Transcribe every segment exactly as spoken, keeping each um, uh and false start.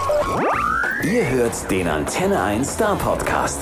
Ihr hört den Antenne eins Star Podcast.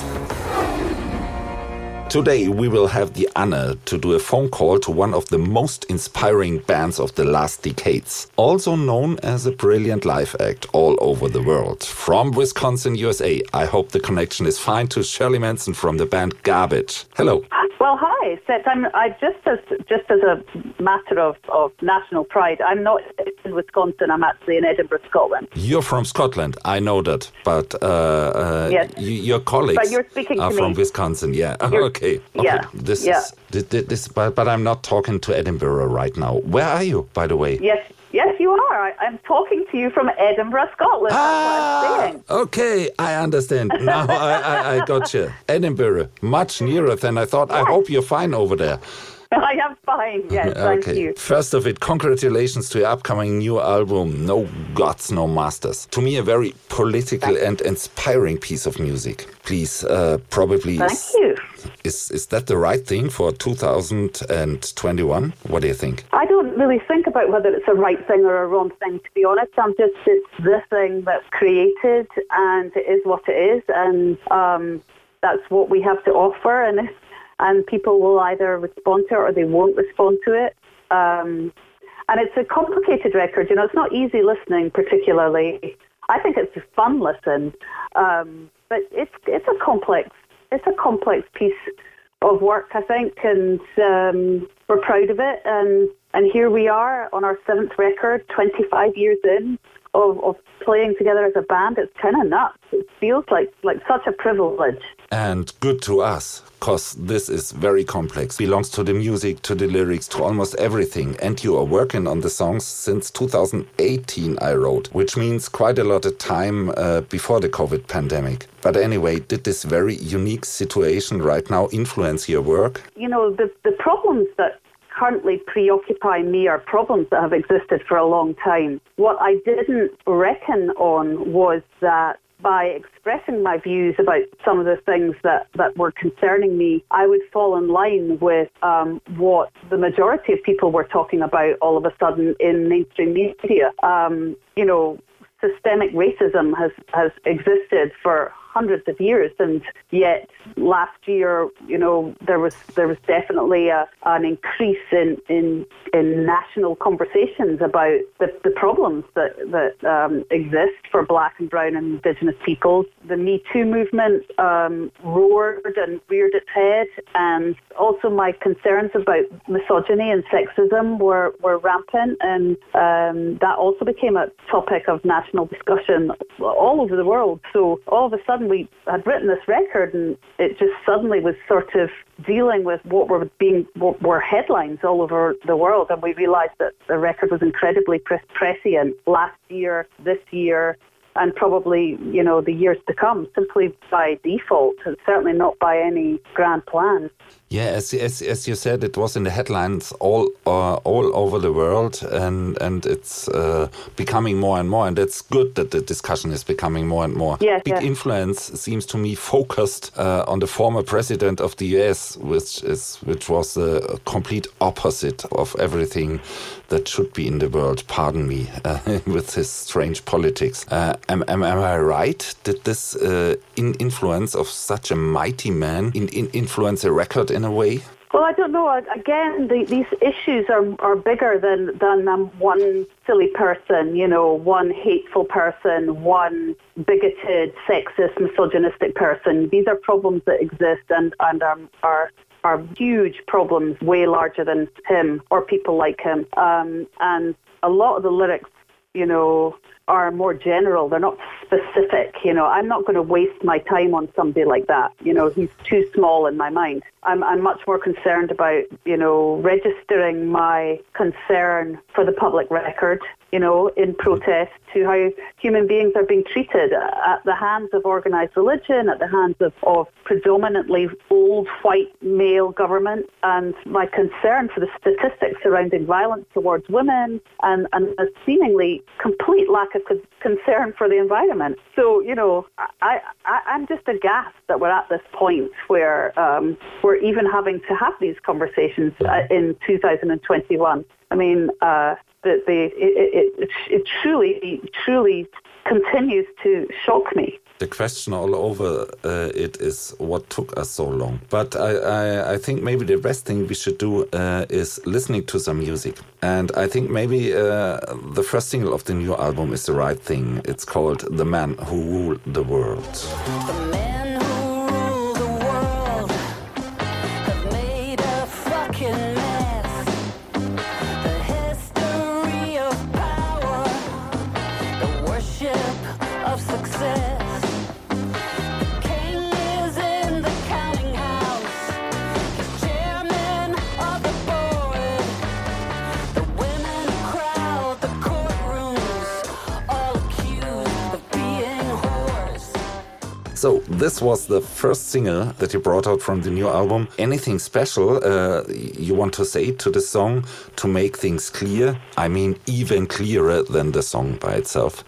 Today we will have the honor to do a phone call to one of the most inspiring bands of the last decades, also known as a brilliant live act all over the world. From Wisconsin, U S A, I hope the connection is fine to Shirley Manson from the band Garbage. Hello. Well, hi, Seth. I'm I just as just as a matter of, of national pride, I'm not in Wisconsin. I'm actually in Edinburgh, Scotland. You're from Scotland, I know that, but uh, uh, yes. y- your colleagues but you're speaking are to from me. Wisconsin. Yeah. You're, okay. Okay. Yeah. This yeah. is this, this but, but I'm not talking to Edinburgh right now. Where are you, by the way? Yes. Yes, you are. I, I'm talking to you from Edinburgh, Scotland. Ah, That's what I'm saying. Okay, I understand. Now I, I, I got you. Edinburgh, much nearer than I thought. Yes. I hope you're fine over there. I am fine. Yes, thank okay. you. First of it, congratulations to your upcoming new album, No Gods, No Masters. To me, a very political and inspiring piece of music. Please, uh, probably... Thank is, you. Is, is that the right thing for two thousand twenty-one? What do you think? I don't really think about whether it's a right thing or a wrong thing, to be honest. I'm just, it's the thing that's created, and it is what it is, and um, that's what we have to offer, and it's and people will either respond to it or they won't respond to it. Um, and it's a complicated record. You know, it's not easy listening particularly. I think it's a fun listen. Um, but it's it's a complex it's a complex piece of work, I think, and um, we're proud of it. And, and here we are on our seventh record, twenty-five years in, of, of playing together as a band. It's kind of nuts. It feels like, like such a privilege. And good to us, because this is very complex. Belongs to the music, to the lyrics, to almost everything. And you are working on the songs since two thousand eighteen, I wrote, which means quite a lot of time uh, before the COVID pandemic. But anyway, did this very unique situation right now influence your work? You know, the, the problems that currently preoccupy me are problems that have existed for a long time. What I didn't reckon on was that by expressing my views about some of the things that, that were concerning me, I would fall in line with um, what the majority of people were talking about all of a sudden in mainstream media. Um, you know, systemic racism has, has existed for hundreds of years, and yet last year, you know, there was there was definitely a, an increase in, in in national conversations about the, the problems that that um, exist for Black and Brown and Indigenous peoples. The Me Too movement um, roared and reared its head, and also my concerns about misogyny and sexism were, were rampant, and um, that also became a topic of national discussion all over the world. So all of a sudden, we had written this record, and it just suddenly was sort of dealing with what were being what were headlines all over the world, and we realised that the record was incredibly prescient last year, this year, and probably, you know, the years to come, simply by default, and certainly not by any grand plan. Yeah, as, as as you said, it was in the headlines all uh, all over the world, and and it's uh, becoming more and more, and it's good that the discussion is becoming more and more. Yeah, Big yeah. influence seems to me focused uh, on the former president of the U S, which is which was the complete opposite of everything that should be in the world. Pardon me, uh, with his strange politics. Uh, am, am am I right? Did this uh, in influence of such a mighty man in, in influence a record in a way? Well, I don't know. Again, the, these issues are, are bigger than, than um, one silly person, you know, one hateful person, one bigoted, sexist, misogynistic person. These are problems that exist and, and um, are are huge problems, way larger than him or people like him. Um, and a lot of the lyrics, you know, are more general. They're not specific. You know, I'm not going to waste my time on somebody like that. You know, he's too small in my mind. I'm, I'm much more concerned about, you know, registering my concern for the public record, you know, in protest to how human beings are being treated at the hands of organised religion, at the hands of, of predominantly old white male government, and my concern for the statistics surrounding violence towards women, and, and a seemingly complete lack of con- concern for the environment. So, you know, I, I, I'm just aghast that we're at this point where um, we're even having to have these conversations uh, in two thousand twenty-one. I mean, uh, that they it, it, it truly, truly continues to shock me. The question all over uh, it is what took us so long. But I, I, I think maybe the best thing we should do uh, is listening to some music. And I think maybe uh, the first single of the new album is the right thing. It's called The Man Who Ruled the World. The men who rule the world have made a fucking mess. The history of power, the worship of success. So this was the first single that you brought out from the new album. Anything special uh, you want to say to the song to make things clear? I mean, even clearer than the song by itself.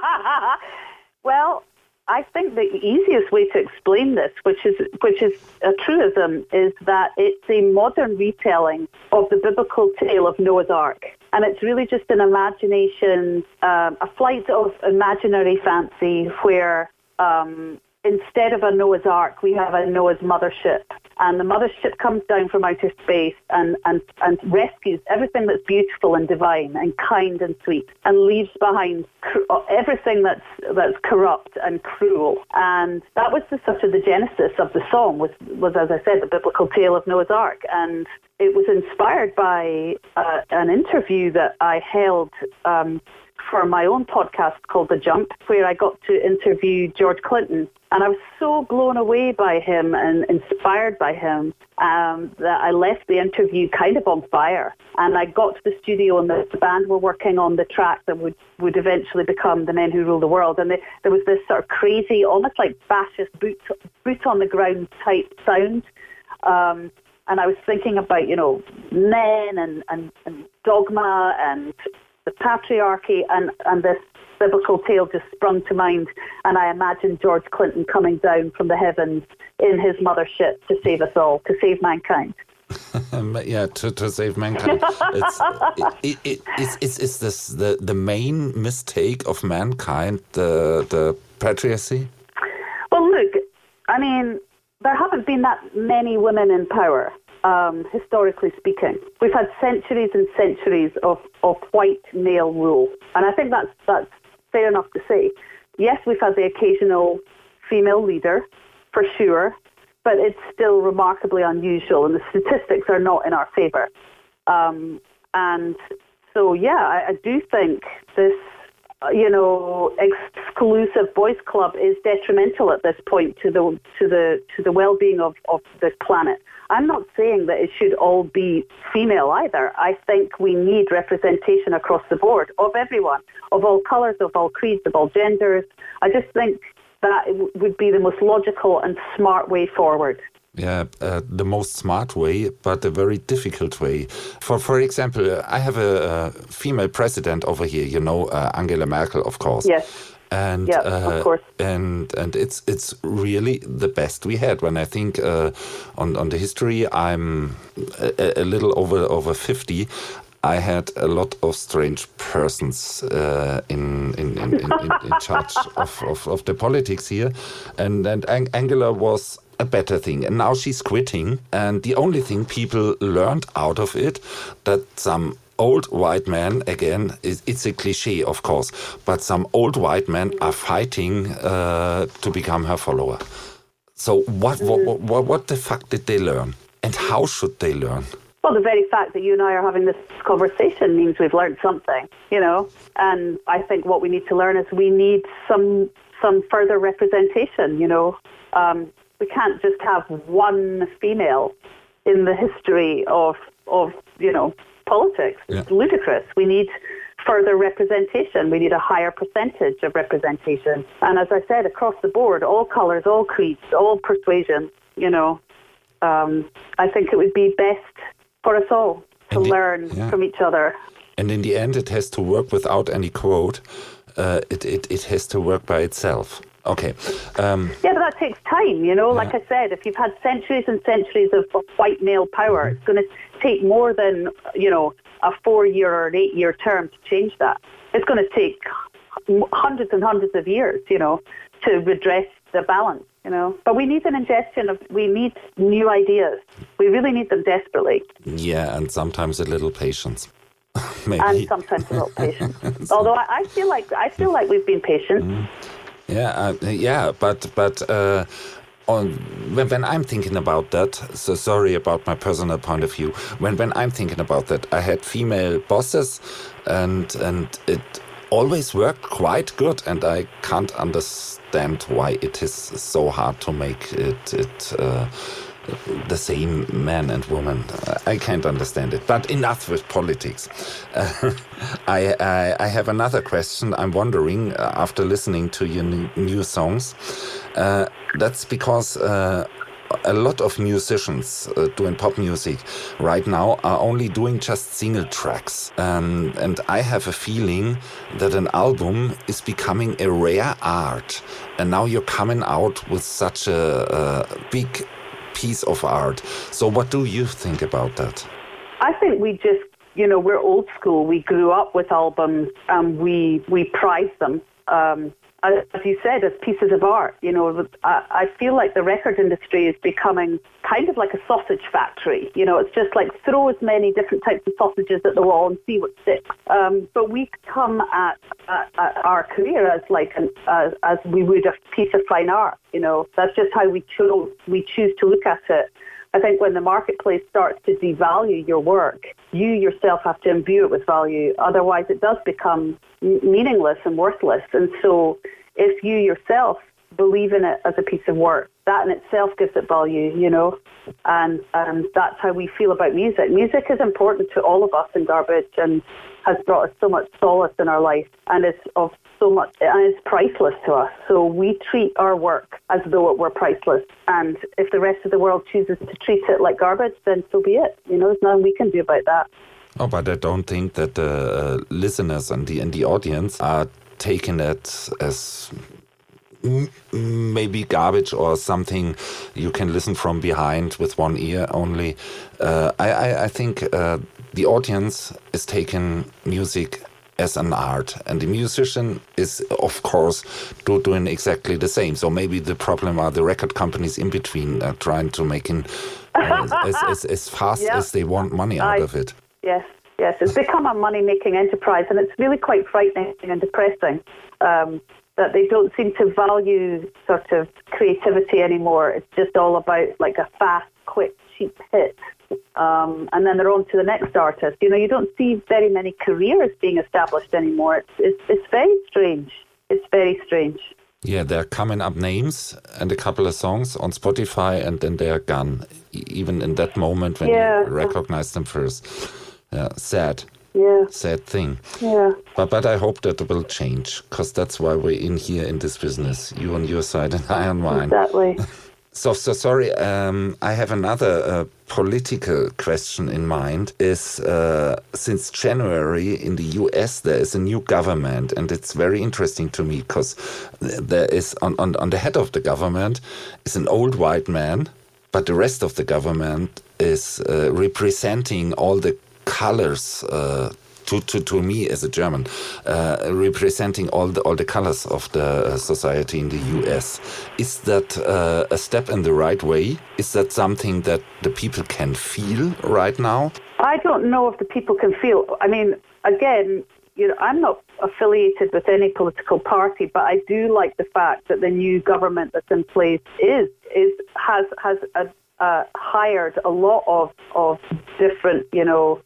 Well, I think the easiest way to explain this, which is which is a truism, is that it's a modern retelling of the biblical tale of Noah's Ark. And it's really just an imagination, um, a flight of imaginary fancy where um, instead of a Noah's Ark, we have a Noah's mothership. And the mothership comes down from outer space and, and, and rescues everything that's beautiful and divine and kind and sweet and leaves behind cr- everything that's that's corrupt and cruel. And that was the, sort of the genesis of the song, was, was, as I said, the biblical tale of Noah's Ark. And it was inspired by uh, an interview that I held um, for my own podcast called The Jump, where I got to interview George Clinton. And I was so blown away by him and inspired by him um, that I left the interview kind of on fire. And I got to the studio and the, the band were working on the track that would, would eventually become The Men Who Rule the World. And they, there was this sort of crazy, almost like fascist boot, boot on the ground type sound. Um, and I was thinking about, you know, men and, and, and dogma and the patriarchy, and, and this biblical tale just sprung to mind, and I imagined George Clinton coming down from the heavens in his mothership to save us all, to save mankind. yeah, to, to save mankind. It's, it, it, it's, it's, it's this the, the main mistake of mankind, the, the patriarchy? Well, look, I mean, there haven't been that many women in power. Um, historically speaking, we've had centuries and centuries of, of white male rule, and I think that's that's fair enough to say. Yes, we've had the occasional female leader, for sure, but it's still remarkably unusual, and the statistics are not in our favour. Um, and so, yeah, I, I do think this, you know, exclusive boys' club is detrimental at this point to the to the to the well-being of, of the planet. I'm not saying that it should all be female either. I think we need representation across the board of everyone, of all colours, of all creeds, of all genders. I just think that it w- would be the most logical and smart way forward. Yeah, uh, the most smart way, but a very difficult way. For for example, I have a, a female president over here, you know, uh, Angela Merkel, of course. Yes. And yeah, uh, of course. and and it's it's really the best we had. When I think uh, on on the history, I'm a, a little over over fifty. I had a lot of strange persons uh, in, in, in, in, in, in charge of, of, of the politics here, and and Ang- Angela was a better thing. And now she's quitting, and the only thing people learned out of it that some old white men, again, it's a cliche, of course, but some old white men are fighting uh, to become her follower. So what, what, what, what the fuck did they learn? And how should they learn? Well, the very fact that you and I are having this conversation means we've learned something, you know. And I think what we need to learn is we need some some further representation, you know. Um, we can't just have one female in the history of, of you know, politics. It's yeah. ludicrous. We need further representation. We need a higher percentage of representation. And as I said, across the board, all colours, all creeds, all persuasions, you know, um, I think it would be best for us all to the, learn yeah. from each other. And in the end, it has to work without any quote. Uh, it, it, it has to work by itself. Okay. Um, yeah, but that takes time, you know. Yeah. Like I said, if you've had centuries and centuries of, of white male power, mm-hmm. it's going to take more than, you know, a four-year or an eight-year term to change that. It's going to take hundreds and hundreds of years, you know, to redress the balance, you know. But we need an ingestion of, we need new ideas. We really need them desperately. Yeah, and sometimes a little patience. Maybe. And sometimes a little patience. Although I, I feel like I feel like we've been patient. Mm. Yeah, uh, yeah, but but uh, on when, when I'm thinking about that, so sorry about my personal point of view. When when I'm thinking about that, I had female bosses, and and it always worked quite good, and I can't understand why it is so hard to make it it. Uh, the same man and woman. I can't understand it. But enough with politics. Uh, I, I I have another question. I'm wondering, uh, after listening to your new, new songs, uh, that's because uh, a lot of musicians uh, doing pop music right now are only doing just single tracks. Um, and I have a feeling that an album is becoming a rare art. And now you're coming out with such a, a big piece of art. So what do you think about that? I think we just, you know, we're old school. We grew up with albums and we, we prize them. Um, as you said, as pieces of art, you know, I, I feel like the record industry is becoming kind of like a sausage factory. You know, it's just like throw as many different types of sausages at the wall and see what sticks. Um, but we come at, at, at our career as like an, uh, as we would a piece of fine art. You know, that's just how we choose we choose to look at it. I think when the marketplace starts to devalue your work, you yourself have to imbue it with value. Otherwise, it does become meaningless and worthless. And so if you yourself believe in it as a piece of work, that in itself gives it value, you know. And, and that's how we feel about music. Music is important to all of us in Garbage and has brought us so much solace in our life, and it's of so much, and it's priceless to us. So we treat our work as though it were priceless. And if the rest of the world chooses to treat it like garbage, then so be it. You know, there's nothing we can do about that. Oh, but I don't think that the uh, listeners and the and the audience are taking it as maybe garbage or something you can listen from behind with one ear only. Uh, I, I, I think uh, the audience is taking music as an art, and the musician is, of course, do, doing exactly the same. So maybe the problem are the record companies in between uh, trying to make it uh, as, as, as fast yep. as they want money out I, of it. Yes, yes. It's become a money-making enterprise, and it's really quite frightening and depressing. Um, that they don't seem to value sort of creativity anymore. It's just all about like a fast, quick, cheap hit. Um, and then they're on to the next artist. You know, you don't see very many careers being established anymore. It's, it's, it's very strange. It's very strange. Yeah, they're coming up names and a couple of songs on Spotify, and then they're gone, even in that moment when yeah. you recognize them first. Yeah, sad. Yeah. Sad thing. Yeah. But but I hope that will change, because that's why we're in here in this business. You on your side and I on mine. Exactly. So, so sorry, um, I have another uh, political question in mind. Is uh, since January in the U S there is a new government, and it's very interesting to me because there is on, on, on the head of the government is an old white man, but the rest of the government is uh, representing all the colors uh, to, to to me as a German, uh, representing all the all the colors of the society in the U S. Is that uh, a step in the right way? Is that something that the people can feel right now? I don't know if the people can feel. I mean, again, you know, I'm not affiliated with any political party, but I do like the fact that the new government that's in place is is has has a, uh, hired a lot of of different, you know,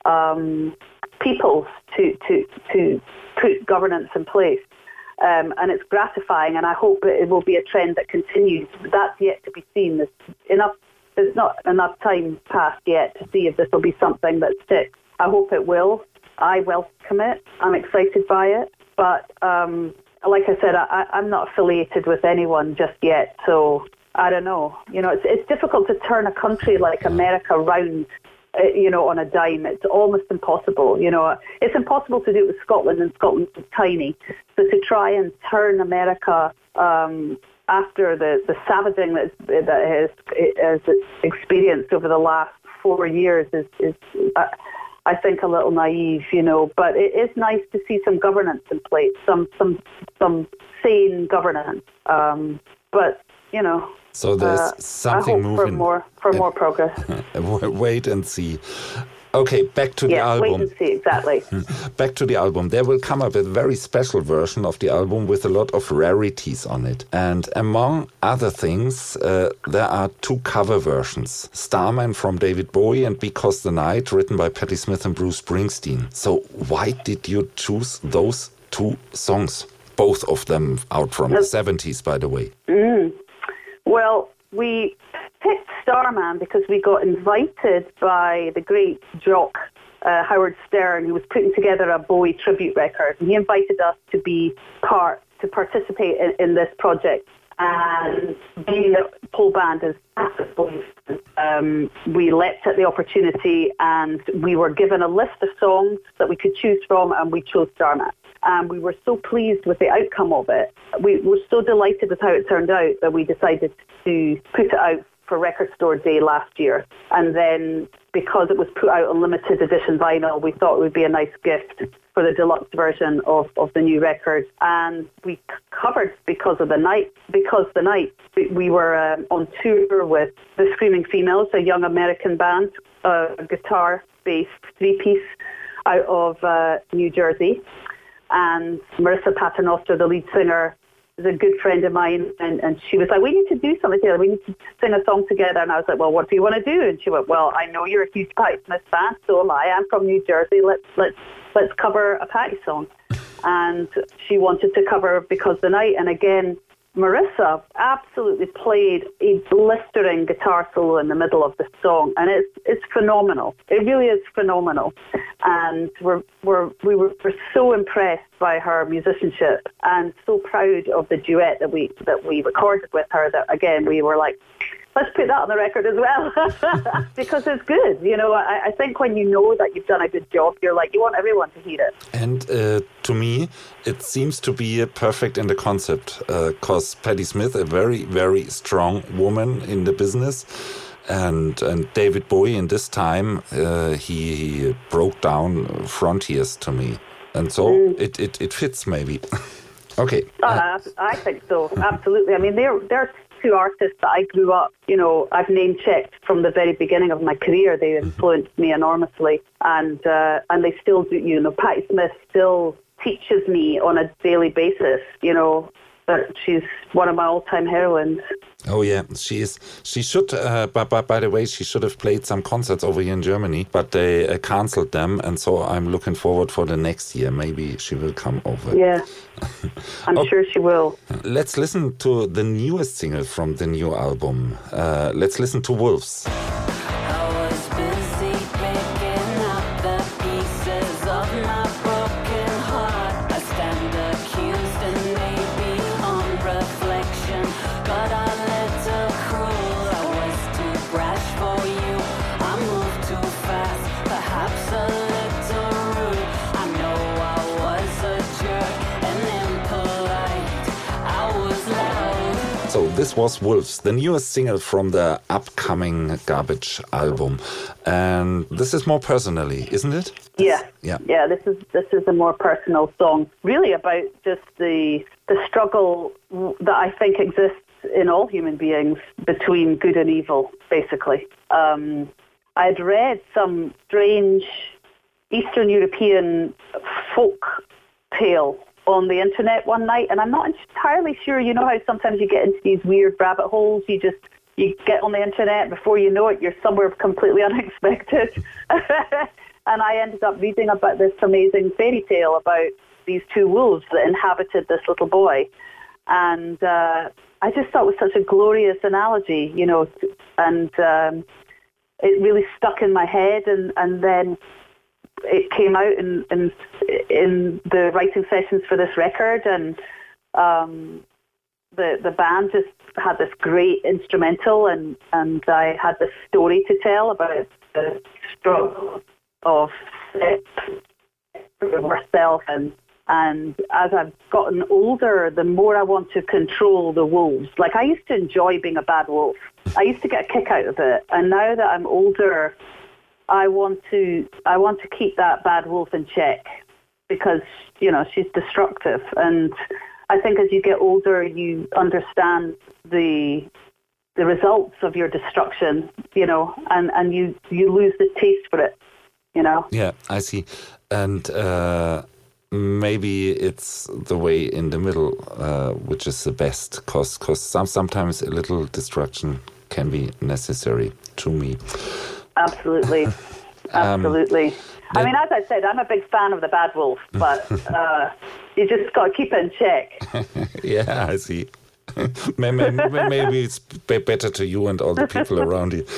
um, people to to to put governance in place, um, and it's gratifying. And I hope that it will be a trend that continues. But that's yet to be seen. There's enough. There's not enough time passed yet to see if this will be something that sticks. I hope it will. I welcome it. I'm excited by it. But um, like I said, I, I'm not affiliated with anyone just yet. So I don't know. You know, it's it's difficult to turn a country like America round, uh, you know, on a dime. It's almost impossible. You know, it's impossible to do it with Scotland, and Scotland is tiny. So to try and turn America um, after the, the savaging that, that has, has experienced over the last four years is, is uh, I think, a little naive, you know. But it is nice to see some governance in place, some some some sane governance. Um, but you know, so there's uh, something I hope moving for more for more progress. Wait and see. Okay, back to yeah, the album. Wait and see, exactly. Back to the album. There will come up a very special version of the album with a lot of rarities on it. And among other things, uh, there are two cover versions. Starman from David Bowie and Because the Night, written by Patti Smith and Bruce Springsteen. So why did you choose those two songs? Both of them out from the seventies, by the way. Mm. Well, we picked Starman because we got invited by the great jock uh, Howard Stern, who was putting together a Bowie tribute record, and he invited us to be part to participate in, in this project. And being that Paul Band is massive Bowie fans, um, we leapt at the opportunity, and we were given a list of songs that we could choose from, and we chose Starman. And we were so pleased with the outcome of it. We were so delighted with how it turned out that we decided to put it out for Record Store Day last year. And then because it was put out on limited edition vinyl, we thought it would be a nice gift for the deluxe version of, of the new record. And we c- covered Because of the Night. Because the Night, we, we were um, on tour with the Screaming Females, a young American band, uh, a guitar-based three-piece out of uh, New Jersey. And Marissa Paternoster, the lead singer, is a good friend of mine, and, and she was like, we need to do something together. We need to sing a song together. And I was like, well, what do you want to do? And she went, well, I know you're a huge Patti Smith fan, so am I. I'm from New Jersey. Let's let's let's cover a Patti song. And she wanted to cover Because the Night. And again, Marissa absolutely played a blistering guitar solo in the middle of the song, and it's it's phenomenal. It really is phenomenal, and we're we're we were we're so impressed by her musicianship and so proud of the duet that we that we recorded with her. That again, we were like, let's put that on the record as well because it's good. You know, I, I think when you know that you've done a good job, you're like, you want everyone to hear it. And uh, to me, it seems to be perfect in the concept because uh, Patti Smith, a very, very strong woman in the business. And and David Bowie in this time, uh, he, he broke down frontiers to me. And so mm. it, it, it fits maybe. Okay. Uh, I think so, absolutely. I mean, they're they're two artists that I grew up, you know, I've name checked from the very beginning of my career. They influenced me enormously, and uh, and they still do. You know, Patti Smith still teaches me on a daily basis. You know, that she's one of my all-time heroines. Oh yeah, she is. She should. Uh, but, but by the way, she should have played some concerts over here in Germany, but they uh, cancelled them, and so I'm looking forward for the next year. Maybe she will come over. Yeah, I'm okay. sure she will. Let's listen to the newest single from the new album. Uh, let's listen to Wolves. So this was Wolves, the newest single from the upcoming Garbage album. And this is more personally, isn't it? Yeah. Yeah. Yeah, this is this is a more personal song. Really about just the the struggle that I think exists in all human beings between good and evil, basically. Um, I'd read some strange Eastern European folk tale on the internet one night, and I'm not entirely sure. You know how sometimes you get into these weird rabbit holes, you just you get on the internet, before you know it, you're somewhere completely unexpected. And I ended up reading about this amazing fairy tale about these two wolves that inhabited this little boy. And uh, I just thought it was such a glorious analogy, you know, and um, it really stuck in my head. And, and then it came out in, in in the writing sessions for this record, and um, the the band just had this great instrumental, and, and I had this story to tell about the struggle of myself, and and as I've gotten older, the more I want to control the wolves. Like, I used to enjoy being a bad wolf. I used to get a kick out of it, and now that I'm older, I want to I want to keep that bad wolf in check because, you know, she's destructive. And I think as you get older, you understand the the results of your destruction, you know, and, and you, you lose the taste for it, you know. Yeah, I see. And uh, maybe it's the way in the middle, uh, which is the best, because cause some, sometimes a little destruction can be necessary to me. Absolutely. Absolutely. Um, I mean, as I said, I'm a big fan of the bad wolf, but uh, you just got to keep it in check. Yeah, I see. maybe, maybe it's better to you and all the people around you.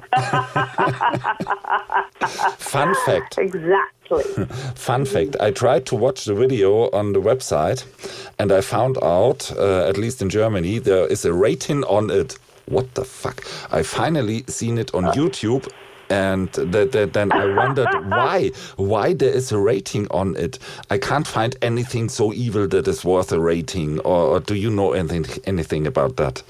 Fun fact. Exactly. Fun fact. I tried to watch the video on the website, and I found out, uh, at least in Germany, there is a rating on it. What the fuck? I finally seen it on uh. YouTube. And th- th- then I wondered why, why there is a rating on it. I can't find anything so evil that is worth a rating. Or, or do you know anything anything about that?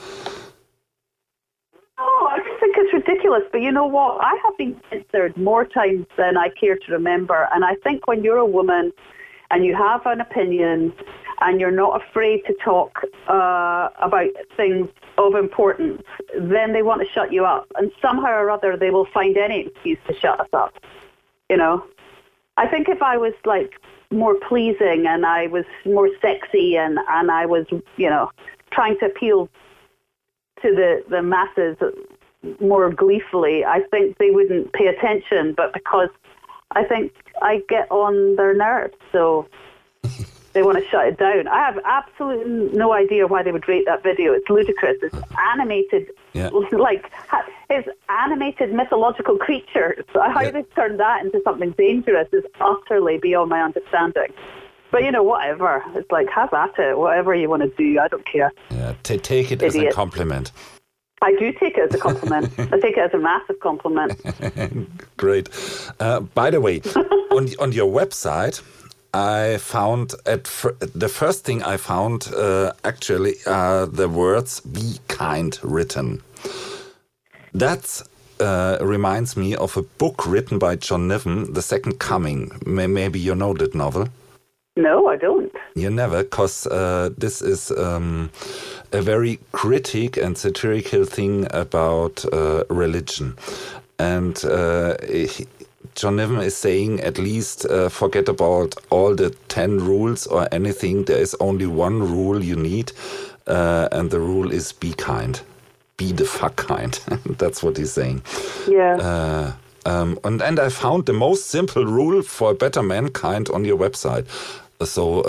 Oh, I just think it's ridiculous. But you know what? I have been censored more times than I care to remember. And I think when you're a woman and you have an opinion and you're not afraid to talk uh, about things of importance, then they want to shut you up. And somehow or other, they will find any excuse to shut us up. You know? I think if I was, like, more pleasing and I was more sexy and, and I was, you know, trying to appeal to the, the masses more gleefully, I think they wouldn't pay attention. But because I think I get on their nerves, so they want to shut it down. I have absolutely no idea why they would rate that video. It's ludicrous. It's animated, yeah. like, it's animated mythological creatures. How yeah. they turned that into something dangerous is utterly beyond my understanding. But, you know, whatever. It's like, have at it. Whatever you want to do. I don't care. Yeah, t- take it Idiot. as a compliment. I do take it as a compliment. I take it as a massive compliment. Great. Uh, by the way, on on your website, I found at fir- the first thing I found uh, actually are the words "be kind" written. That uh, reminds me of a book written by John Niven, The Second Coming. May- maybe you know that novel. No, I don't. You never, because uh, this is um, a very critic and satirical thing about uh, religion. And uh, he, John Niven is saying, at least uh, forget about all the ten rules or anything. There is only one rule you need, uh, and the rule is be kind. Be the fuck kind. That's what he's saying. Yeah. Uh, um, and, and I found the most simple rule for a better mankind on your website. So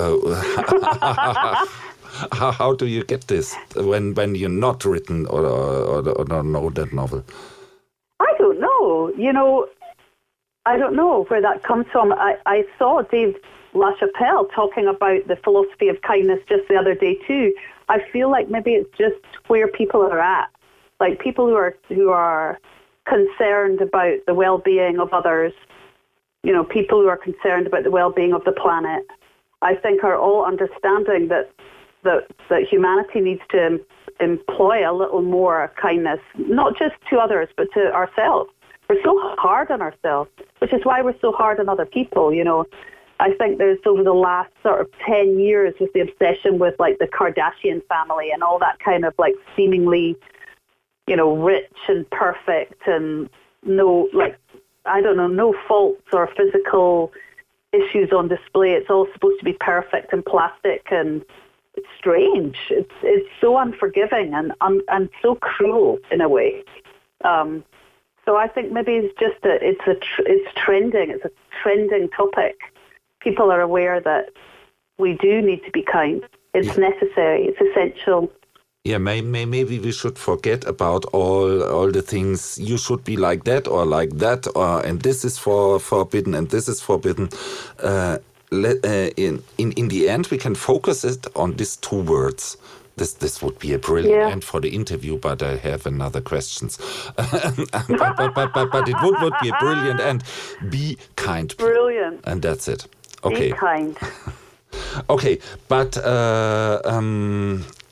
uh, how, how do you get this when, when you're not written or, or, or don't know that novel? I don't know. You know, I don't know where that comes from. I, I saw Dave LaChapelle talking about the philosophy of kindness just the other day too. I feel like maybe it's just where people are at. Like people who are who are concerned about the well-being of others, you know, people who are concerned about the well-being of the planet, I think are all understanding that that, that humanity needs to em- employ a little more kindness, not just to others, but to ourselves. We're so hard on ourselves, which is why we're so hard on other people, you know. I think there's over the last sort of ten years with the obsession with like the Kardashian family and all that kind of like seemingly, you know, rich and perfect and no, like, I don't know, no faults or physical issues on display. It's all supposed to be perfect and plastic, and it's strange. It's it's so unforgiving and um, and so cruel in a way. Um, so I think maybe it's just a it's a tr- it's trending. It's a trending topic. People are aware that we do need to be kind. It's yeah. necessary. It's essential. Yeah, may, may, maybe we should forget about all all the things. You should be like that or like that, or and this is for forbidden and this is forbidden. Uh, let, uh, in in in the end, we can focus it on these two words. This this would be a brilliant yeah. end for the interview, but I have another questions. but, but, but, but, but it would, would be a brilliant end. Be kind. Brilliant. And that's it. Okay. Be kind. Okay, but uh, um,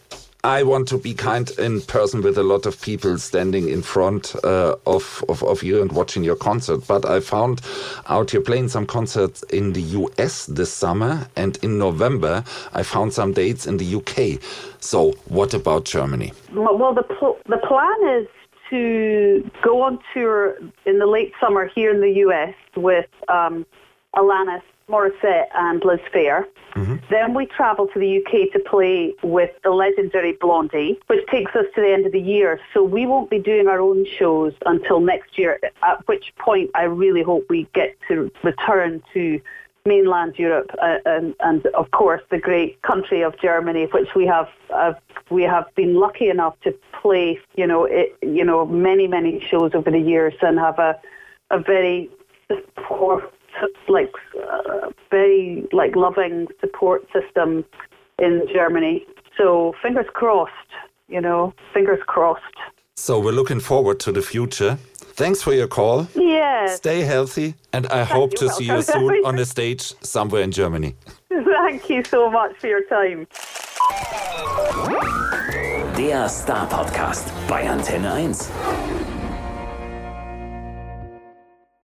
I want to be kind in person with a lot of people standing in front uh, of, of, of you and watching your concert. But I found out you're playing some concerts in the U S this summer, and in November I found some dates in the U K. So what about Germany? Well, the pl- the plan is to go on tour in the late summer here in the U S with um, Alanis Morissette and Liz Phair. Mm-hmm. Then we travel to the U K to play with the legendary Blondie, which takes us to the end of the year. So we won't be doing our own shows until next year, at which point I really hope we get to return to mainland Europe uh, and, and, of course, the great country of Germany, which we have uh, we have been lucky enough to play, you know, it, you know, many many shows over the years, and have a a very support, like uh, very like loving support system in Germany. So fingers crossed, you know, fingers crossed. So we're looking forward to the future. Thanks for your call. Yes. Stay healthy, and I Thank hope you. to see you soon on a stage somewhere in Germany. Thank you so much for your time. Der Star Podcast bei Antenne eins.